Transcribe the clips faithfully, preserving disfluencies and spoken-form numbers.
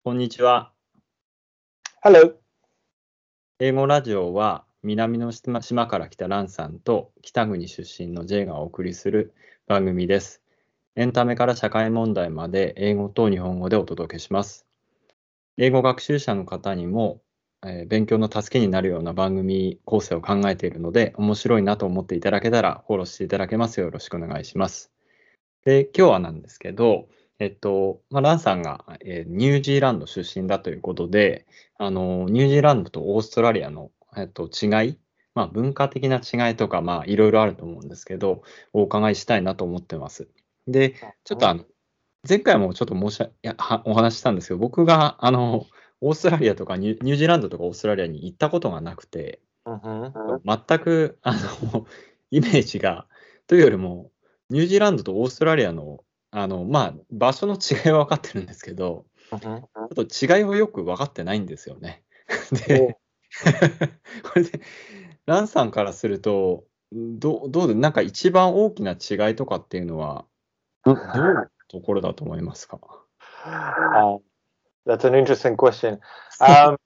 こんにちは。 Hello. 英語ラジオは南の島島から来たランさんと北国出身の J がお送りする番組です。エンタメから社会問題まで英語と日本語でお届けします。英語学習者の方にも、えー勉強の助けになるような番組構成を考えているので、面白いなと思っていただけたらフォローしていただけますよ。よろしくお願いします。で、今日はなんですけど、えっと、まあ、ランさんが、えーニュージーランド出身だということで、あの、ニュージーランドとオーストラリアの、えっと、違い、まあ、文化的な違いとか、まあ、いろいろあると思うんですけど、お伺いしたいなと思ってます。で、ちょっとあの、前回もちょっと申し上げ、いやはお話ししたんですけど、僕が、あの、オーストラリアとかニュニュージーランドとかオーストラリアに行ったことがなくて、 Mhm. 全く、あの、イメージが、というよりも、ニュージーランドとオーストラリアの、あの、まあ、場所の違いは分かってるんですけど、 Mhm. ちょっと違いをよく分かってないんですよね。 おで、これで、ランさんからすると、どう、どうで、なんか一番大きな違いとかっていうのは、ど、どういうところだと思いますか？ Um, that's an interesting question. Um,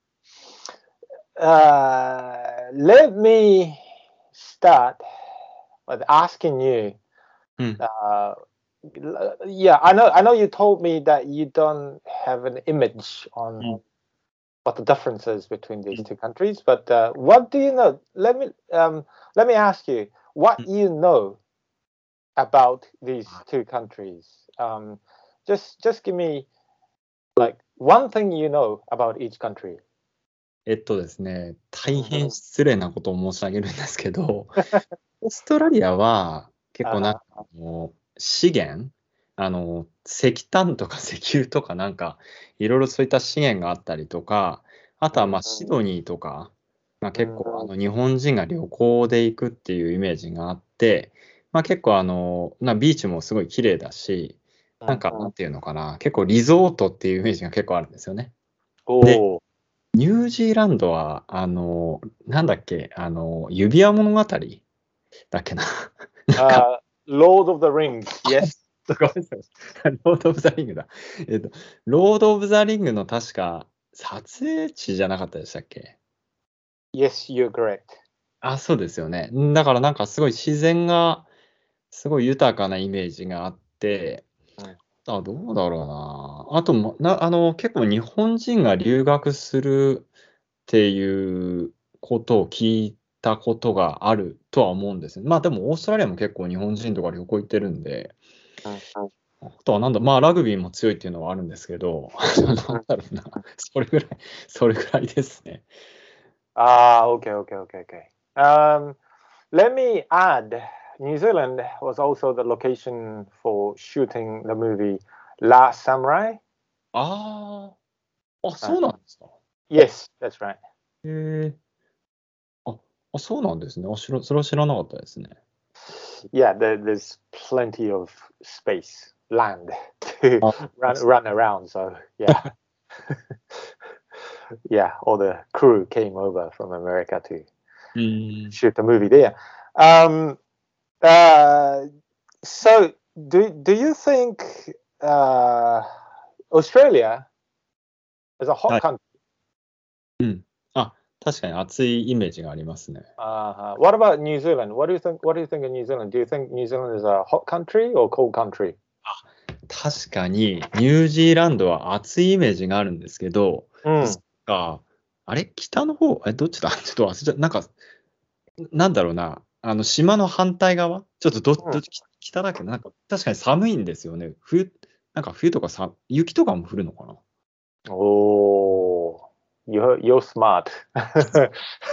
uh, let me start with asking you. うん、 Uh, l- yeah, I know. I know you told me that you don't have an image う on ん、 what the difference is between う these ん、 two countries, but uh, what do you know? Let me um, let me ask you what うん。 you know about these two countries. Um, just just give me like one thing you know about each country. えっとですね、大 Mhm. 変失礼なことを申し上げるんですけど、オーストラリアは結構なん Uh-huh. かあの資源、あの石炭とか石油とかなんかいろいろそういった資源があったりとか、あとはまあシドニーとか、まあ、結構あの日本人が旅行で行くっていうイメージがあって、まあ、結構あのなビーチもすごい綺麗だし、なんかなんていうのかな、結構リゾートっていうイメージが結構あるんですよね。で、 Oh, ニュージーランドは、あの、なんだっけ、あの、指輪物語だっけな。なんか、 uh, Lord of the Rings. Yes. ごめんなさい。ロード・オブ・ザ・リングだ。えっと、ロード・オブ・ザ・リングの確か、撮影地じゃなかったでしたっけ？ Yes, you're correct. あ、そうですよね。んだからなんかすごい自然が、すごい豊かなイメージがあって、 Mm. あ、どうだろうな。あとも、な、あの、結構日本人が留学するっていうことを聞いたことがあるとは思うんですね。まあでもオーストラリアも結構日本人とか旅行行ってるんで、 Mm. あとはなんだ、まあラグビーも強いっていうのはあるんですけど、なんだろうな。それぐらい、それぐらいですね。 Ah, okay, okay, okay, okay. Um, let me add, New Zealand was also the location for shooting the movie Last Samurai. ああ、あ、 Uh, そうなんですか。 yes, that's right. へえ。あ、あ、そうなんですね。あ、知ら、それは知らなかったですね。 Yeah, there, there's plenty of space, land to あ、 run run around. So yeah, yeah, all the crew came over from America to うーん。 shoot the movie there. Um, uh, so do do you think uh, Australia is a は hot い。 country? うん。あ、確かに暑いイメージがありますね。 Uh, what about New Zealand? What do you think? What do you think of New Zealand? Do you think New Zealand is a hot country or cold country? 確かに、ニュージーランドは暑いイメージがあるんですけど、 Mm. そっか、あれ北の方、え、どっちだちょっと忘れちゃった。なんか、なんだろうな。あの、島の反対側ちょっとど、どっち、北だけど、なんか、確かに寒いんですよね。冬、なんか冬とかさ、雪とかも降るのかな？ Oh, you're you're smart. uh,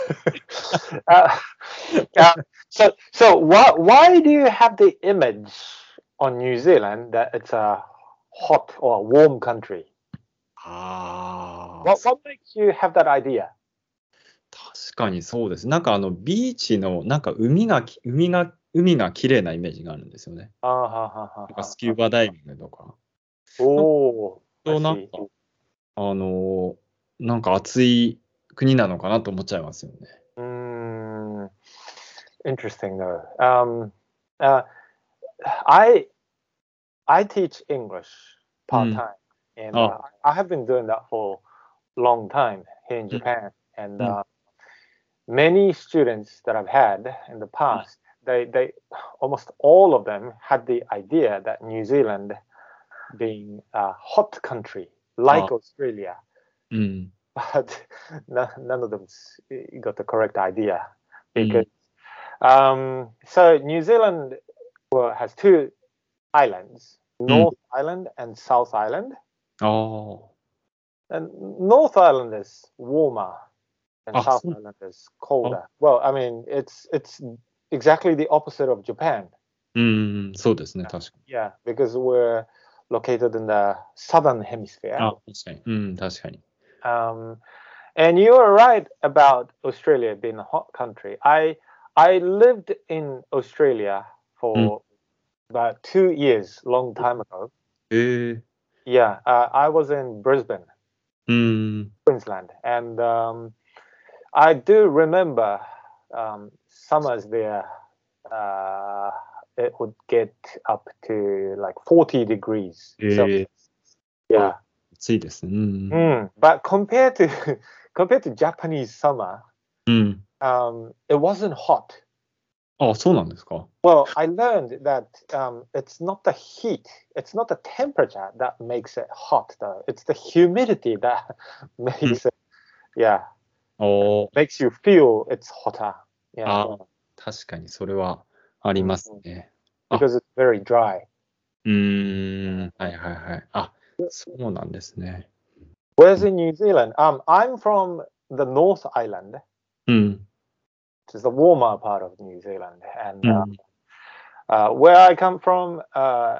uh, so so why why do you have the image on New Zealand that it's a hot or a warm country? ああ、 What what makes you have that idea? 確かにそうです。なんかあの、ビーチの、なんか海がき、海が、海が綺麗なイメージがあるんですよね。 Uh, ha, ha, ha, なんか ha, スキュ ha. ーバダイビングとか。なんか、 Oh, I なんか see. あのーなんか暑い国なのかなと思っちゃいますよね。 Mm, interesting though. Um, uh, I I teach English う part ん。 time. and Oh. uh, I have been doing that for a long time here in Japan. And Mm. uh, many students that I've had in the past, they, they almost all of them had the idea that New Zealand being a hot country like Oh. Australia, うん。 but no- none of them s- got the correct idea because um, so New Zealand well, has two islands, North Island and South Island. ああ。 And North Island is warmer and あ、 South そう。 Island is colder. Well, I mean, it's it's exactly the opposite of Japan. うん、そうですね、確かに。 Yeah, because we're located in the southern hemisphere. あ、確かに。うん、確かに。 Um, and you are right about Australia being a hot country. I I lived in Australia for about two years, long time ago. へえ。 Yeah, uh, I was in Brisbane, うん。 Queensland, and um, I do remember um, summers there. Uh, it would get up to like forty degrees. へ So え。 yeah. 暑いですね。うん。 Mm, but compared to compared to Japanese summer, うん。 um, it wasn't hot. あ、そうなんですか。 Well, I learned that um, it's not the heat, it's not the temperature that makes it hot, though. It's the humidity that makes it, yeah, おー。 makes you feel it's hotter. Yeah, ああ、確かにそれはありますね。 because it's very dry. うーん。はいはいはい。あ、そうなんですね。 Whereas in New Zealand, um, I'm from the North Island, うん。 which is the warmer part of New Zealand, and う uh, ん。 uh, where I come from, uh,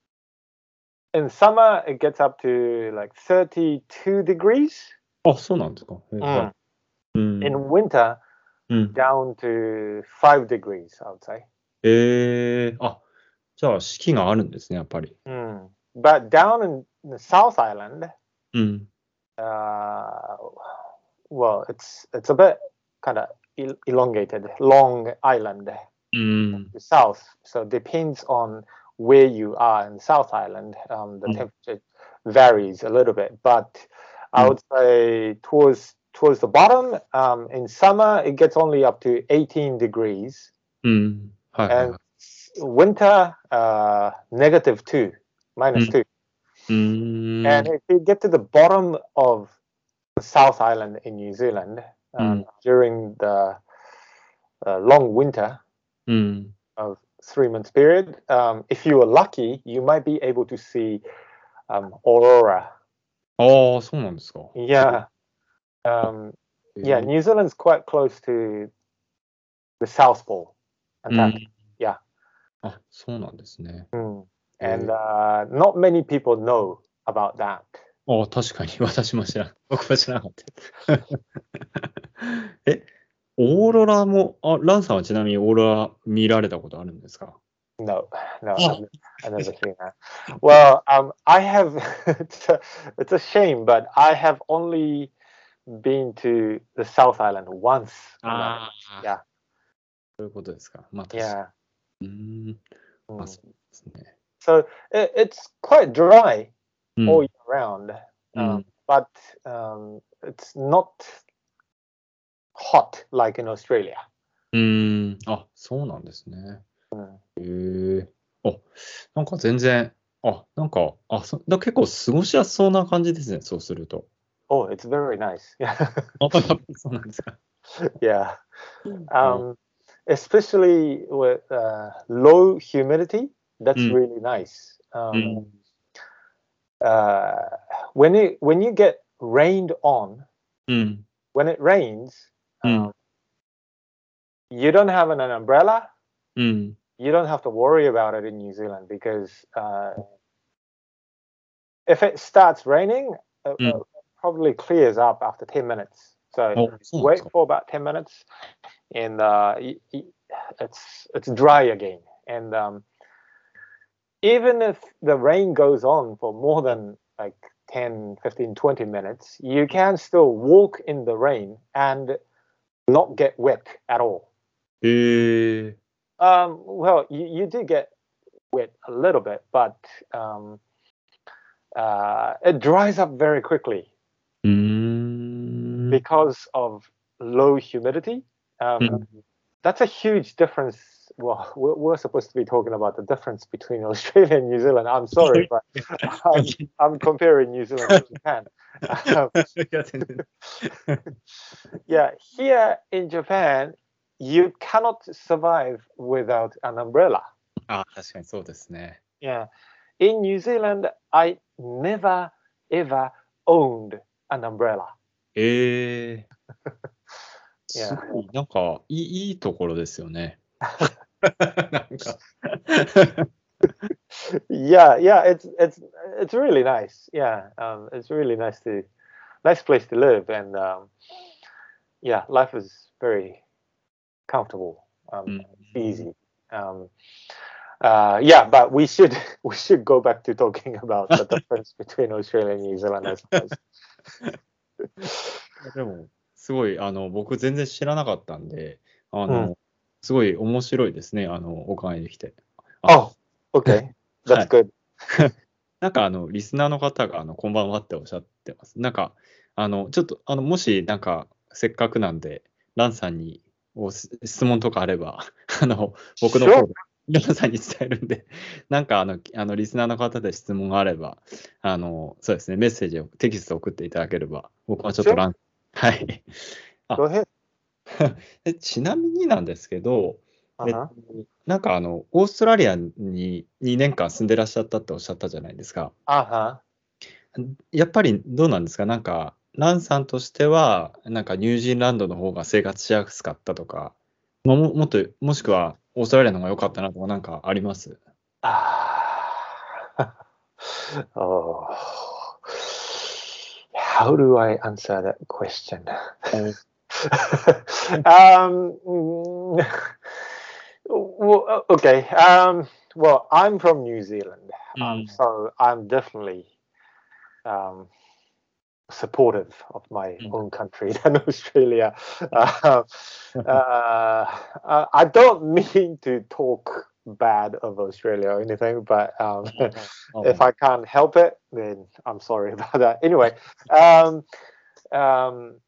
in summer it gets up to like thirty-two degrees. あ、そうなんですか。へえ、はい。 うん。 In winter, うん。 down to five degrees, I would say. ええ、あ、じゃあ四季があるんですね、やっぱり。 Mm. But down in the South Island, うん。 uh, well, it's it's a bit kind of el- elongated, long island うん。 the south. So it depends on where you are in South Island. Um, the Mm. temperature varies a little bit, but I Mm. would say towards towards the bottom, um, in summer it gets only up to eighteen degrees, うん。はいはい and はい。 winter uh, negative two, minus Mm. two. うーん。 And if you get to the bottom of the South Island in New Zealand um, Mm. during the uh, long winter うん。 of three months period, um, if you were lucky, you might be able to see um, aurora. ああ、そうなんですか。 Yeah, um, へえ yeah. New Zealand's quite close to the South Pole, うん。 Antarctica. Yeah, あ、そうなんですね。 mm. へえ and uh, not many people know about that. ああ、確かに私も知らん。僕は知らなかった。え、オーロラも、あ、ランさんはちなみにオーロラ見られたことあるんですか？ No, no, Oh. I've, I've never seen that. Well, um, I have. It's a, it's a shame, but I have only been to the South Island once. ああ、 Yeah, そういうことですか。まあ、確か yeah. に。うーん。まあ、 Mm. そうですね。 So it, it's quite dry うん。 all year round, う um, ん。 but um, it's not hot like in Australia. うーん。あ、そうなんですね。 へえ。あ、なんか全然、あ、なんか、あ、そだ結構過ごしやすそうな感じですね、そうすると。 Oh, it's very nice. Yeah, あ、やっぱりそうなんですか。 yeah. Um, especially with uh, low humidity, that's Mm. really nice. Um, Mm. uh, when it when you get rained on, うん。 when it rains, う um, ん。 you don't have an, an umbrella. うん。 You don't have to worry about it in New Zealand because uh, if it starts raining, it, Mm. it probably clears up after ten minutes. So あ、そうなんで wait すか。 for about ten minutes, and uh, y- y- it's it's dry again. And um, even if the rain goes on for more than like ten, fifteen, twenty minutes, you can still walk in the rain and not get wet at all. へえ。 Um, well, you, you do get wet a little bit, but um, uh, it dries up very quickly うーん。 because of low humidity. Um, うん that's a huge difference. Well, we're, we're supposed to be talking about the difference between Australia and New Zealand. I'm sorry, but I'm, I'm comparing New Zealand to Japan. Um, いや全然 yeah, here in Japan, you cannot survive without an umbrella. あ、確かにそうですね。 Yeah. In New Zealand, I never ever owned an umbrella. ええす Yeah. ごい、なんか、いい、いいところですよね。なんか Yeah, yeah, it's it's it's really nice. Yeah, um, it's really nice to nice place to live, and um, yeah, life is very comfortable, う um, ん easy. Um, uh, yeah, but we should we should go back to talking about the difference between Australia and New Zealand, I suppose. でも、すごい、あの、僕全然知らなかったんで、あ Mm. の、すごい面白いですね、あの、お伺いできて。あ、 Oh, okay, は that's い。 good. なんか、あの、リスナーの方が、あの、こんばんはっておっしゃってます。なんか、あの、ちょっと、あの、もし、なんか、せっかくなんで、ランさんにおす質問とかあれば、あの、僕の Sure. 方で、ランさんに伝えるんで、なんか、あの、あのリスナーの方で質問があれば、あの、そうですね、メッセージを、テキストを送っていただければ、僕はちょっと Sure. ラン、はい。あ Go ahead. えちなみになんですけど、えっと Uh-huh. なんかあの、オーストラリアににねんかん住んでらっしゃったっておっしゃったじゃないですか。 Uh-huh. やっぱりどうなんですかなんか、ランさんとしては、なんかニュージーランドの方が生活しやすかったとか、もももっと、もしくはオーストラリアの方が良かったなとかなんかあります Ah. Oh. How do I answer that question? お um, mm, well, okay. Um, well, I'm from New Zealand, う um, ん so I'm definitely um, supportive of my うん own country than Australia. Uh, uh, uh, I don't mean to talk bad of Australia or anything, but um, ああ if I can't help it, then I'm sorry about that. Anyway, um, um,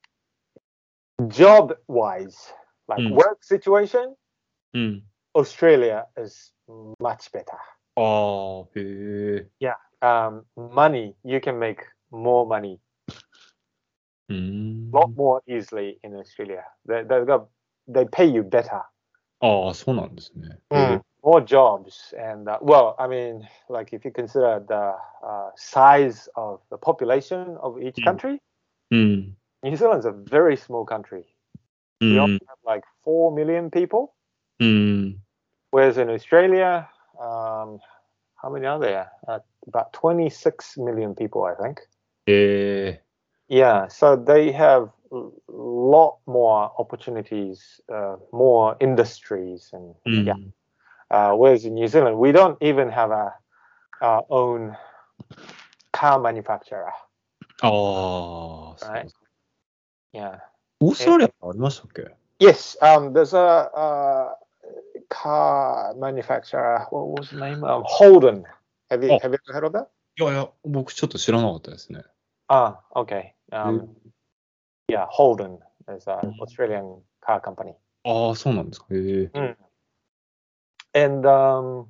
job wise, う like ん work situation, うん Australia is much better. ああ、へえ。 Yeah. Um, money, you can make more money う a ん lot more easily in Australia. They, they, got, they pay you better. ああ、そうなんですね。へ Mm. え。 More jobs. And uh, well, I mean, like if you consider the uh, size of the population of each うん country, うん New Zealand's a very small country. う We only ん have like four million people, うん whereas in Australia, um, how many are there? Uh, about twenty-six million people, I think. へえ。 Yeah, so they have a lot more opportunities, uh, more industries, and う yeah. ん Uh, whereas in New Zealand, we don't even have a our own car manufacturer, ああ、そう right? Yeah. オースト And ラリアってありましたっけ yes, um, there's a, uh car manufacturer. What was the name? Um, Holden. Have you あ、い have you ever heard of that? やいや、僕ちょっと知らなかったですね。 Ah, okay. へえ Um, yeah, Holden is an Australian car company. ああ、そうなんですか。へえ。 Mm. And um,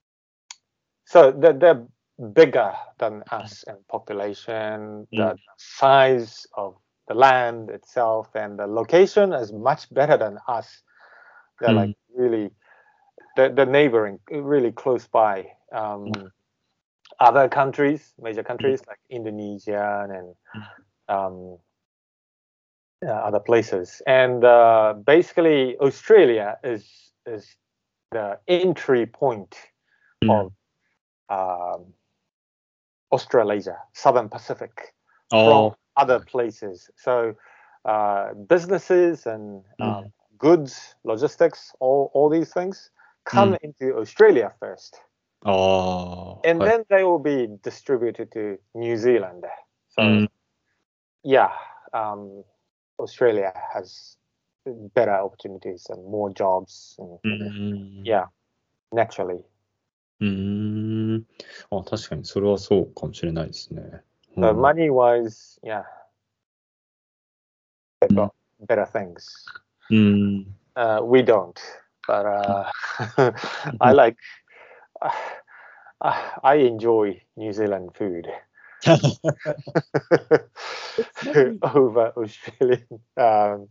so they're, they're bigger than us in population. Mm. The size of the land itself and the location is much better than us. They're like really, they're, they're neighboring, really close by um, other countries, major countries like Indonesia and um, uh, other places. And uh, basically, Australia is is the entry point うん of um, Australasia, Southern Pacific, あ from あ、 other places. So uh, businesses and う um, ん goods, logistics, all, all these things come うん into Australia first. ああ、 And はい。 then they will be distributed to New Zealand. う So ん yeah, um, Australia has better opportunities and more jobs. And うん yeah, naturally. うーん。あ、確かにそれはそうかもしれないですね。う So ん。 money-wise, yeah, they've うん。 got better things. うん。 Uh, we don't, but uh, I like, I, I enjoy New Zealand food ちなみに、 over Australian. Um,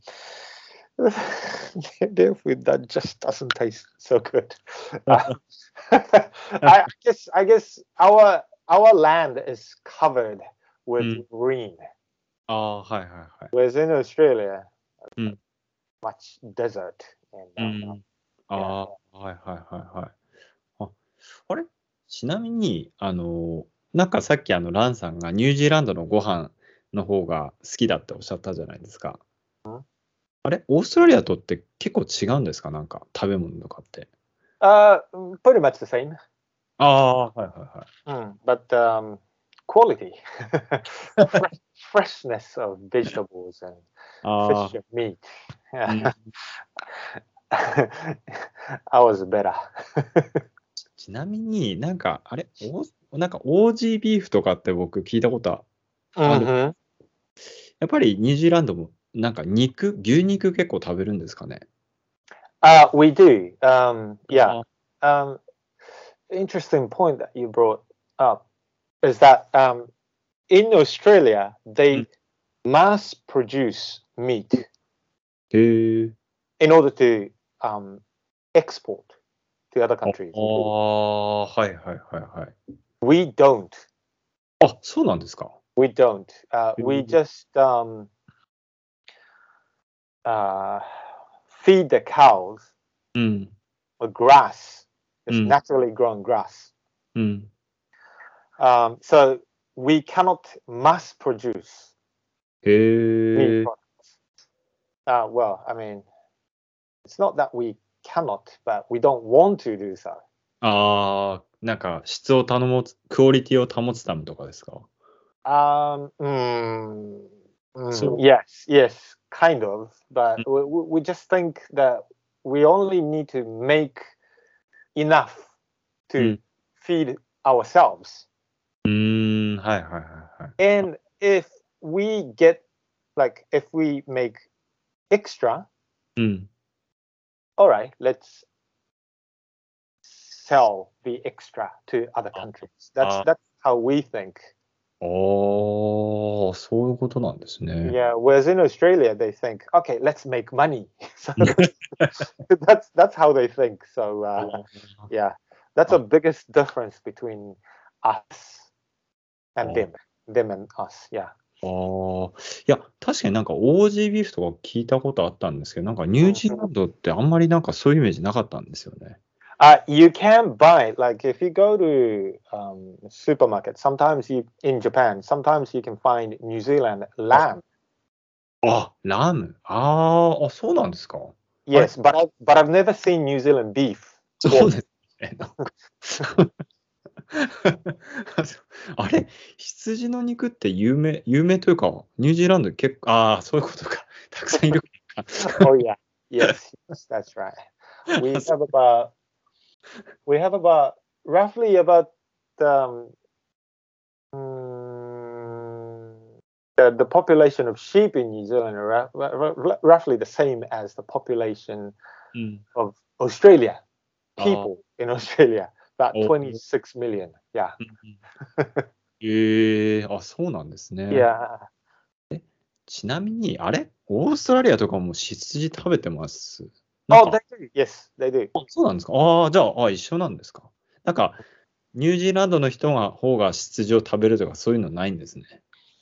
their food that just doesn't taste so good. Uh, I guess I guess our our land is covered う with ん。 green, ああ、はいはいはい。 whereas in Australia, うん。 much desert. And う um, ん。 yeah, ああ、はいはいはいはい。あ、あれちなみに、あの、なんかさっきあの、ランさんがニュージーランドのご飯の方が好きだっておっしゃったじゃないですか。あれオーストラリアとって結構違うんですかなんか食べ物とかって。 uh, pretty much the same. ああ、はいはいはい。 Mm, but um, quality, fresh, freshness of vegetables and あ fish あ、 and meat. うん。 Ours is better. ちなみになんか、あれオーなんかオージービーフとかって僕聞いたことある。 hmm やっぱりニュージーランドもなんか肉、牛肉結構食べるんですかね。 Uh, we do. Um, yeah. あ Um, interesting point that you brought up is that um, in Australia ー、う they ん。 mass produce meat へえ。 in order to um, export to other あ countries. あー、はいはいはいはい。 We don't. あ、そうなんですか。 We don't. Uh, へ we え。 just um, uh, feed the cows うん、 a grass, う just ん、 naturally grown grass. うん。 Um, so we cannot mass produce へ meat え。 products. Uh, well, I mean, it's not that we cannot, but we don't want to do so. ああ、なんか質を頼もつ、クオリティを保つためとかですか。 Um, mm, mm, そ yes, yes, kind of, う。 but we, we we just think that we only need to make enough う to ん。 feed ourselves. うーん、はいはいはいはい。 And if we get, like, if we make extra, うん。 all right, let's sell the extra to other あ countries. That's あ、 that's how we think. あーそういうことなんですね。 Yeah. Whereas in Australia, they think, okay, let's make money. So that's that's how they think. So uh, yeah, that's あ the biggest difference between us あ and them, them and us. Yeah. あー、いや、確かになんかオージービーフとか聞いたことあったんですけど、なんかニュージーランドってあんまりなんかそういうイメージなかったんですよね。 Uh, you can buy, like, if you go to um, supermarket. Sometimes you in Japan. Sometimes you can find New Zealand あ、 lamb. あ、ラム。あーあ、そうなんですか。あれ Yes, but I but I've never seen New Zealand beef そう pork. ですね。なんかあれ羊の肉って有名、有名というか、ニュージーランド結構、ああ、そういうことか。たくさんいるか。 Oh yeah, yes, yes, that's right. We have about we have about roughly about um, mm, the the population of sheep in New Zealand are ru- ru- ru- roughly the same as the population うん。 of Australia. ああ、 People in Australia, about お、 twenty-six million. Yeah. うんうん、ええあ、そうなんですね。 Yeah. ちなみに、あれオーストラリアとかも羊食べてますなん Oh, か、 they do. Yes, they do. あそうなんですか。ああ、じゃあ、あ、一緒なんですか。なんか、ニュージーランドの人が方が羊を食べるとかそういうのないんですね。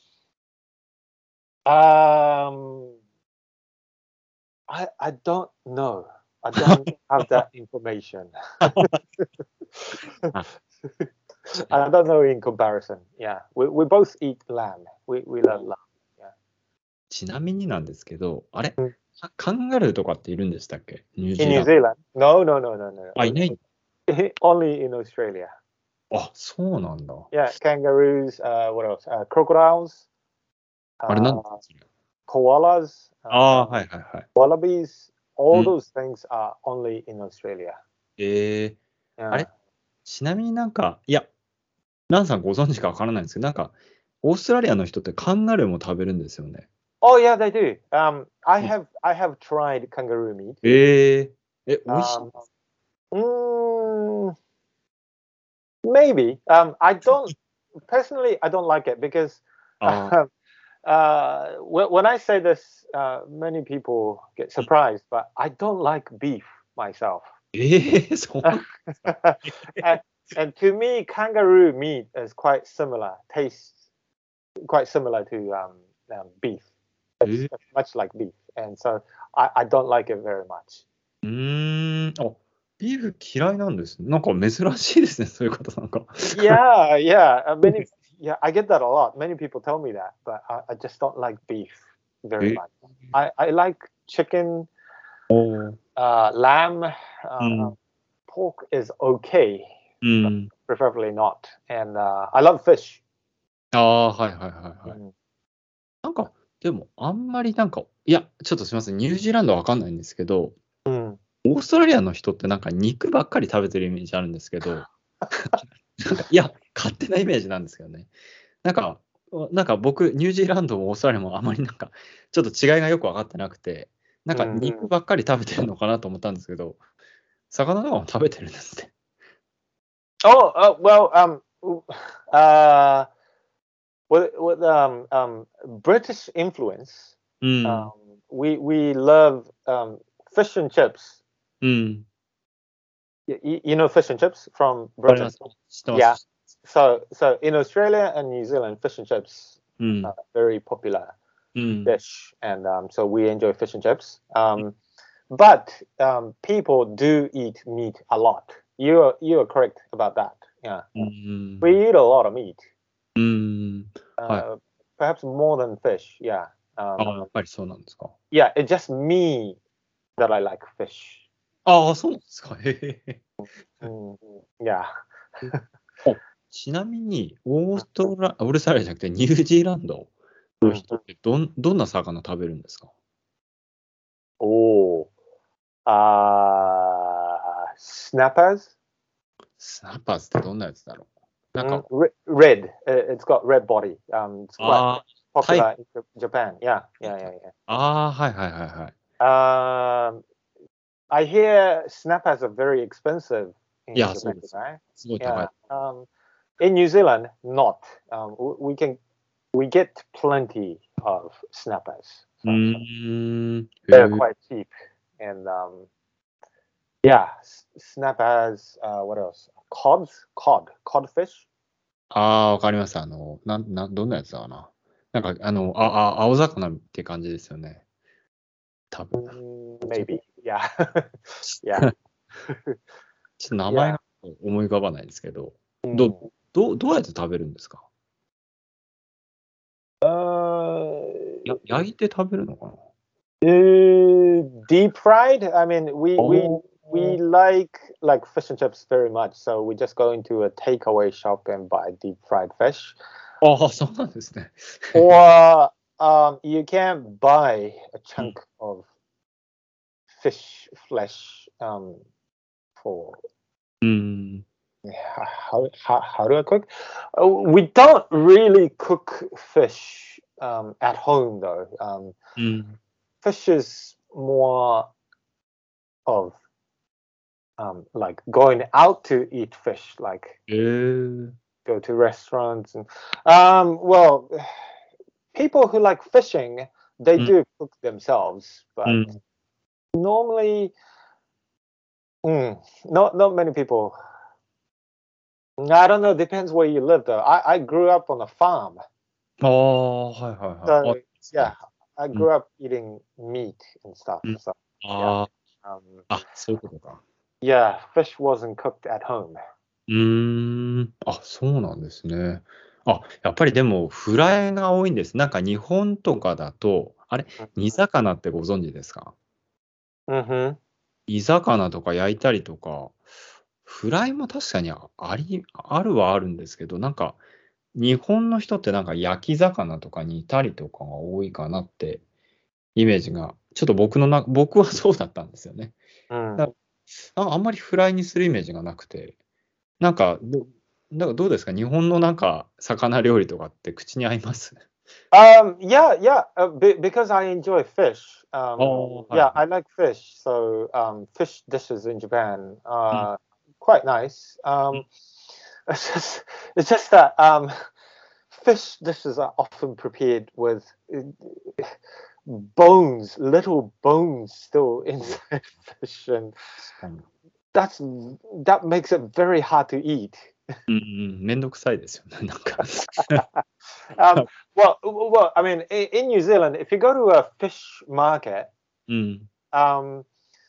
Um, I I don't know. I don't have that information. あ、ちな I don't know in comparison. Yeah, we we both eat lamb. We we love lamb. Yeah. ちなみになんですけど、あれ Mm. カカンガルーとかっているんでしたっけニュー In ジー New ランド。 Zealand? No, no, no, no, no. あ、いない。 Only in Australia. あ、そうなんだ。 Yeah, kangaroos. Uh, what else? Uh, crocodiles. あれなん Uh, ですか koalas. あ Uh, あー、はいはいはい。 wallabies. う All ん。 those things are only in Australia. えー、あ Yeah. れちなみになんか、いや、ランさんご存知かわからないんですけど、なんか、オーストラリアの人ってカンガルーも食べるんですよね。 Oh yeah, they do. Um, I うん have I have tried kangaroo meat. えー、え、美味しい Um, mm, maybe. Um, I don't personally. I don't like it because あー uh, uh, when, when I say this, uh, many people get surprised. But I don't like beef myself. えー、そうなん and, and to me, kangaroo meat is quite similar. Tastes quite similar to um, um, beef. え It's, ー it's much like beef, and so I, I don't like it very much. うーん、あ、ビーフ嫌いなんですね。なんか珍しいですね、そういう方なんか。 Yeah, yeah. Uh, many, yeah, I get that a lot. Many people tell me that, but I, I just don't like beef え very ー much. I, I like chicken, おー uh, lamb, う uh, ん、 pork is okay, う but ん。 preferably not. And uh, I love fish. ああ、はいはいはいはい。 Mm. なんか、でも、あんまりなんか、いや、ちょっとすみません、ニュージーランドはわかんないんですけど、 Mm. オーストラリアの人ってなんか肉ばっかり食べてるイメージあるんですけど、なんか、いや、勝手なイメージなんですけどね。なんか、なんか僕、ニュージーランドもオーストラリアもあまりなんか、ちょっと違いがよく分かってなくて、なんか Mm. 肉ばっかり食べてるのかなと思ったんですけど、魚とかも食べてるんですね。 Oh, uh, well, um, uh, with, with um, um, British influence, う um, ん、 we we love um, fish and chips. うん。 You, you know fish and chips from わかりま Britain? す。知ってま Yeah. す。 So so in Australia and New Zealand, fish and chips う are ん、 very popular うん、 dish, and um, so we enjoy fish and chips. Um, but um, people do eat meat a lot. You are you are correct about that. Yeah, うん、 we eat a lot of meat. うん、はい。 Uh, perhaps more than fish. Yeah. ああ、や Um, っぱりそうなんですか。 yeah. It's just me that I like fish. ああ、そうなんですか。へへへ。 Mm, yeah. あ、ちなみに、オーストラ、オーストラリアじゃなくてニュージーランドの Mm. 人ってどん、どんな魚食べるんですか？ Oh. Uh, snappers. スナッパーズってどんなやつだろう？なん Mm, か、 re- red. Uh, It's got red body. Um, it's quite ああ、タイ、 popular in J- Japan. Yeah, yeah, yeah, ああ、はいはいはいはい。 yeah. Um, I hear snappers are very expensive い in や、そう Japan, です。 right? すごい高 Yeah. い。 Um, in New Zealand, not. Um, w- we can we get plenty of snappers. う So, so ーん、 they're へえ。 quite cheap. And um, yeah, s- snappers. Uh, what else? Cods, cod, codfish. ああ、わかります。あの、なん、なん、どんなやつだかな。なんか、あの、あ、あ、青魚って感じですよね。多分。 Mm, ちょっと maybe. Yeah. Yeah. ちょっと名前 Yeah. が思い浮かばないですけど、ど、 Mm. ど、どうやって食べるんですか？ Uh, や、焼いて食べるのかな？ uh, deep fried. I mean, we あ we ー we like like fish and chips very much. So we just go into a takeaway shop and buy deep fried fish. あー、そうなんですね。 Or um, you can buy a うん chunk of fish flesh um, for うーん。 how, how how do I cook? Uh, we don't really cook fish um, at home though. Um, うん。 fish is more of um, like going out to eat fish, like えー、 go to restaurants and um, well, people who like fishing they うん、 do cook themselves, う but ん。 normally, mm, not not many people. I don't know. Depends where you live though. I I grew up on a farm, ああ、はいはいはい。あ、 so ですね。 yeah, I うん、 grew up eating meat and stuff. うん。 So yeah, あ um, あ、あ、そういうことか。 yeah, fish wasn't cooked at home. うーん。あ、そうなんですね。あ、やっぱりでも、フライが多いんです。なんか日本とかだと、あれ、煮魚ってご存知ですか？ Mm-hmm. 煮魚とか焼いたりとか、フライも確かにああり、あるはあるんですけど、なんか、日本の人ってなんか焼き魚とか煮たりとかが多いかなってイメージが、ちょっと僕のな、僕はそうだったんですよね。 Mm. だああんまりフライにするイメージがなくて、 なんか、どなんかどうですか日本のなんか、魚料理とかって口に合います Um, yeah, yeah, uh, be, because I enjoy fish. Um, ああ、はい yeah, はい。 I like fish. So um, fish dishes in Japan うん。 are quite nice. うん Um, it's just, it's just that um, fish dishes are often prepared with uh, bones, little bones still inside fish, and 確かに。 that's that makes it very hard to eat. うんうん、めんどくさいですよね、なんか。 Um, well, well, I mean, in, in New Zealand, if you go to a fish market, うん。 um,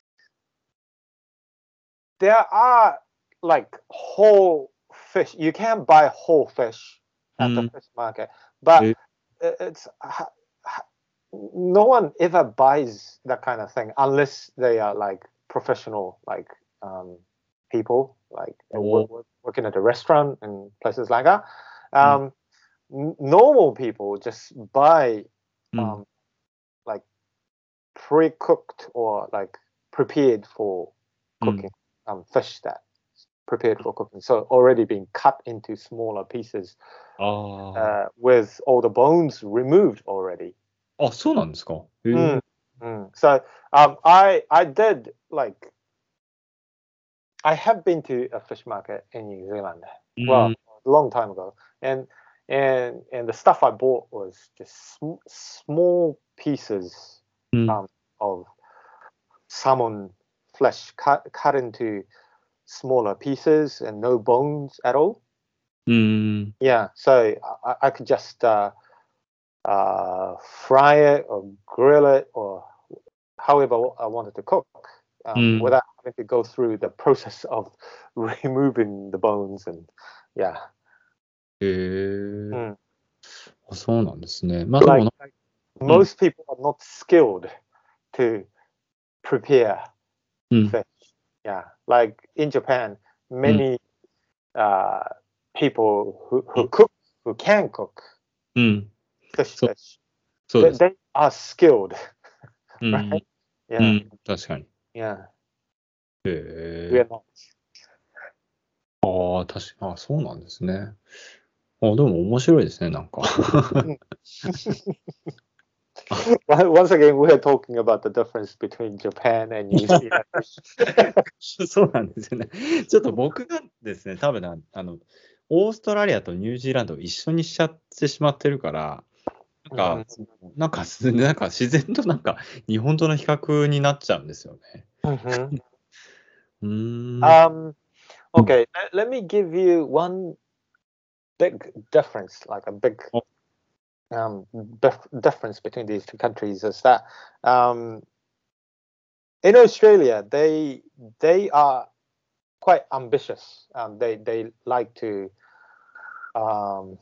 there are like whole fish. You can buy whole fish う at the ん。 fish market, but え、 i- it's ha- ha- no one ever buys that kind of thing unless they are like professional, like um, people, like uh, wo- お、 wo- working at a restaurant and places like that. うん。 Um, n- normal people just buy うん。 um, like pre-cooked or like prepared for うん。 cooking um, fish that prepared for cooking. So already being cut into smaller pieces あ uh, with all the bones removed already. あ。あ、そうなんですか。へ Mm, え。 mm. So um, I I did like I have been to a fish market in New Zealand. う Well, ん。 a long time ago, and and and the stuff I bought was just sm- small pieces うん。 um, of salmon flesh cut cut into smaller pieces and no bones at all. うん。 Yeah, so I, I could just uh, uh, fry it or grill it or however I wanted to cook う um, ん。 without having to go through the process of removing the bones and yeah. へえ。 Mm. あ、そうなんですね。まあでも Like, な、 like うん。 most people are not skilled to prepare うん。 fish. Yeah, like in Japan, うん。 many uh, people who, う who ん。 cook, who can cook うん。 fish そう、 dish, そう they, です。 they are skilled, うん。 right? う Yeah, ん。確かに。 yeah, へ we are え。 not. ああ、確か、あ、そうなんですね。あ、でも面白いですね、なんか。 Mm. あ、 Well, once again, we are talking about the difference between Japan and New Zealand. そうなんですよね。ちょっと僕がですね、多分な、あの、オーストラリアとニュージーランドを一緒にしちゃってしまってるから、なんか、 Mhm, そのなんかす、なんか自然となんか日本との比較になっちゃうんですよね。 mhm. うーん。 Um, okay, let, let me give you one big difference, like a big あ、 um, dif- difference between these two countries is that um, in Australia, they they are quite ambitious. Um, they they like to um,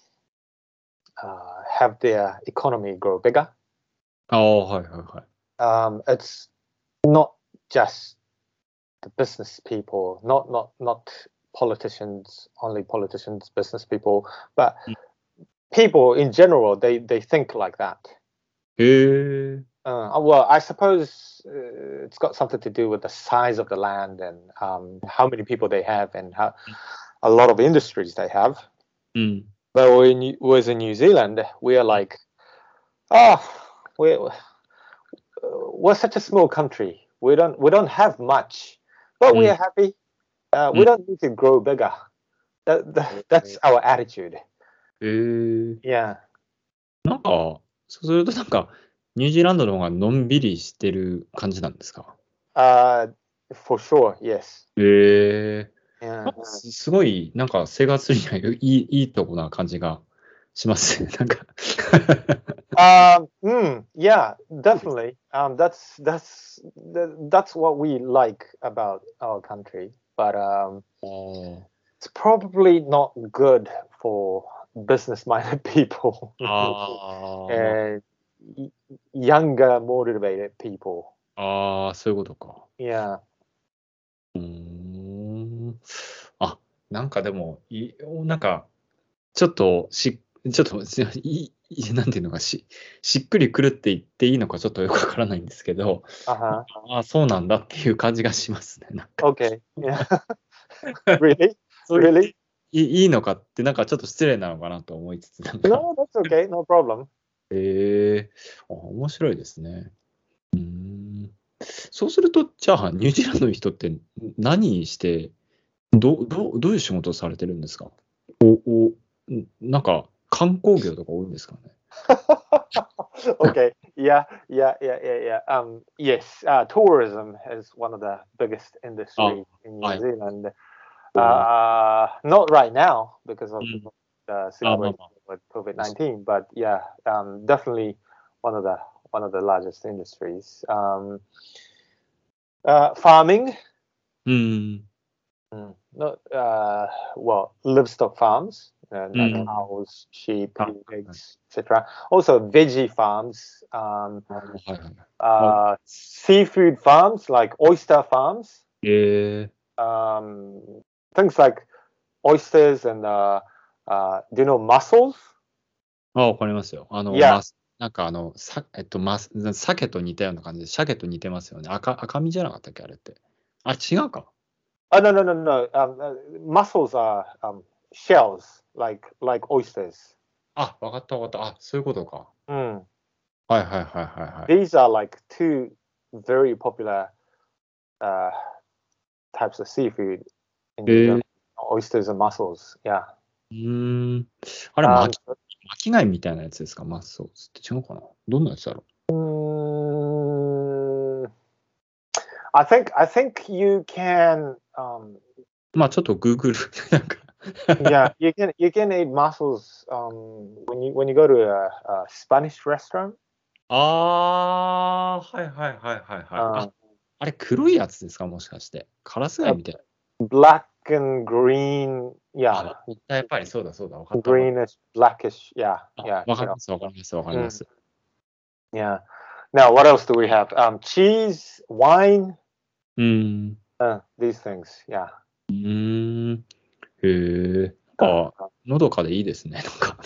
uh, have their economy grow bigger. ああ、はいはいはい。 Um, it's not just the business people, not not not politicians, only politicians, business people, but うん、 people in general. They they think like that. へえ。 Uh, well, I suppose uh, it's got something to do with the size of the land and um, how many people they have and how a lot of industries they have. うん。 But when was in New Zealand, we are like, oh, we're we're such a small country. We don't we don't have much, but うん。 we are happy. Uh, う we ん。 don't need to grow bigger. That, that that's our attitude. へえ。 Yeah. なんか、そうするとなんか、ニュージーランドの方がのんびりしてる感じなんですか Uh, for sure. Yes. へえ。なん Yeah. かす、すごい、なんか生活にはいい、いいとこな感じがしますね。なんか Um, mm, yeah, definitely. Um, that's that's that, that's what we like about our country, but um, あー it's probably not good for business-minded people あー、ま and y- younger, motivated people. あ、あーそういうことか。 Yeah. うーん。あ、なんかでも、い、なんか、ちょっとし、ちょっと、しい、いなんていうのか、し、しっくりくるって言っていいのかちょっとよくわからないんですけど、なんか Uh-huh. ああ、そうなんだっていう感じがしますね、なんか。 Okay. Yeah. Really? そう言って Really? いいいいのかって、なんかちょっと失礼なのかなと思いつつ、なんか、 No, that's okay. No problem. えー、あ、面白いですね。うーん。そうすると、じゃあ、ニュージーランドの人って何して、ど、どう、どういう仕事をされてるんですか？お、お、んなんか、観光業とか多いんですかね？ Okay. Yeah, yeah, yeah, yeah, yeah. Um, yes, uh, tourism is one of the biggest あ、 industries in は New い。 Zealand. おー Uh, not right now because う of ん。 the あ、まあ situation まあ。 with COVID nineteen, but yeah, um, definitely one of the one of the largest industries. Um, uh, farming, うん。 mm, not uh, well, livestock farms, uh, う like ん。 cows, sheep, あ、はい。 pigs, et cetera. Also, veggie farms, um, あ、はいはいはい。あ、 uh, seafood farms like oyster farms, えー、 um, things like oysters and uh, uh, do you know mussels? あ、わかりますよ。あの、 Yeah. マス、なんかあの、さ、えっと、マス、鮭と似たような感じで、鮭と似てますよね。赤、赤身じゃなかったっけ、あれって。あ、違うか。 Oh no no no no. Um, uh, mussels are um, shells like like oysters. あ、わかったわかった。あ、そういうことか。 Mm. はいはいはいはいはい。 These are like two very popular uh, types of seafood in え New ー、 Zealand. Oysters and mussels. Yeah. うーん。あれ、 Um, 巻き、巻き貝みたいなやつですか、マッソースって違うかな。どんなやつだろ mm, I think I think you can. Um, う。まあ、ちょっとグーグル、なんか。 yeah, you can you can eat mussels um, when you when you go to a, a Spanish restaurant. ああ、はいはいはいはいはい。あ、 Um, あれ、黒いやつですか、もしかして。カラス貝 uh, みたいな。 black and green. あ、 Yeah, わかった。やっぱりそうだそうだ。わかったわかっ greenish, blackish. Yeah, た。あ、 yeah, わか you り know. ますわかりますわかりま Mm, す。 yeah. Now, what else do we have? Um, cheese, wine, うーん。 uh, these things. Yeah. うーん。へえ。なん Uh, か、のどかでいいですね。なんか。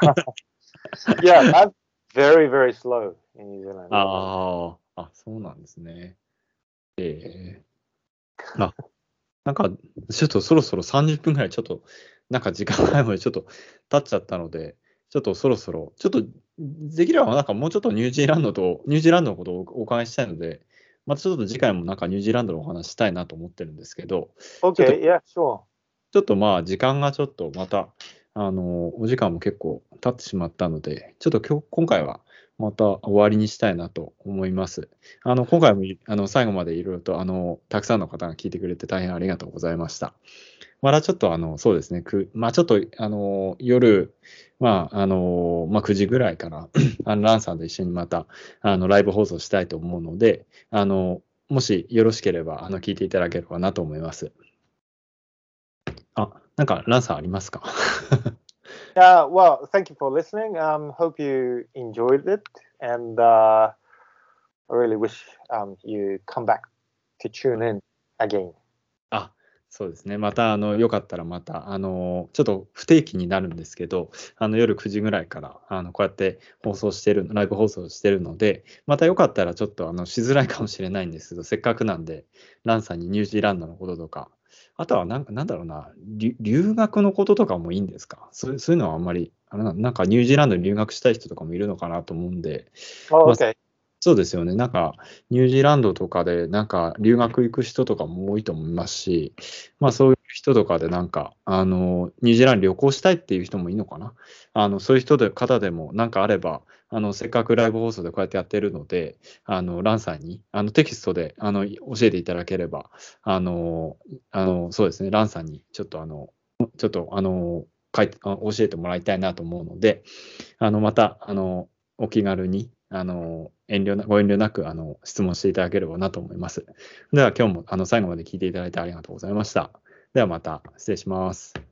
yeah, that's very, very slow in New Zealand. ああ、あ、そうなんですね。ええ。あ、なんか、ちょっとそろそろさんじゅっぷんぐらい、ちょっと、なんか時間がないので、ちょっと経っちゃったので、ちょっとそろそろ、ちょっと、できればなんかもうちょっとニュージーランドと、ニュージーランドのことをお伺いしたいので、またちょっと次回もなんかニュージーランドのお話したいなと思ってるんですけど、ちょっと、 Okay, yeah, sure. ちょっとまあ時間がちょっとまた、あの、お時間も結構経ってしまったので、ちょっと今日、今回はまた終わりにしたいなと思います。あの、今回もいあの最後までいろいろと、あの、たくさんの方が聞いてくれて大変ありがとうございました。またちょっとあの、そうですね、く、まあちょっと、あの、夜、まあ、あの、まあくじぐらいから、あの、ランさんと一緒にまた、あの、ライブ放送したいと思うので、あの、もしよろしければ、あの、聞いていただければなと思います。あ、なんか、ランさんありますか？ Uh, well, thank you for listening. Um, hope you enjoyed it, and uh, I really wish um, you come back to tune in again. あ、そうですね。また、あの、よかったらまた、あの、ちょっと不定期になるんですけど、あの、夜くじぐらいから、あの、こうやって放送してる、ライブ放送してるので、またよかったらちょっと、あの、しづらいかもしれないんですけど、せっかくなんで、ランさんにニュージーランドのこととか、あとはなんか、なんだろうな、留留学のこととかもいいんですか？そういう、そういうのはあんまり、あれな、なんかニュージーランドに留学したい人とかもいるのかなと思うんで、 Oh, まあ、 okay. そうですよね。なんか、ニュージーランドとかで、なんか、留学行く人とかも多いと思いますし、まあ、そういう人とかで、なんか、あの、ニュージーランド旅行したいっていう人もいいのかな。あの、そういう人で、方でも、なんかあれば、あの、せっかくライブ放送でこうやってやってるので、あの、ランさんに、あの、テキストで、あの、教えていただければ、あの、あの、そうですね、ランさんに、ちょっと、あの、ちょっと、あの、書いて、あ教えてもらいたいなと思うので、あの、また、あの、お気軽に、あの、遠慮な、ご遠慮なく、あの、質問していただければなと思います。では、今日も、あの、最後まで聞いていただいてありがとうございました。ではまた、失礼します。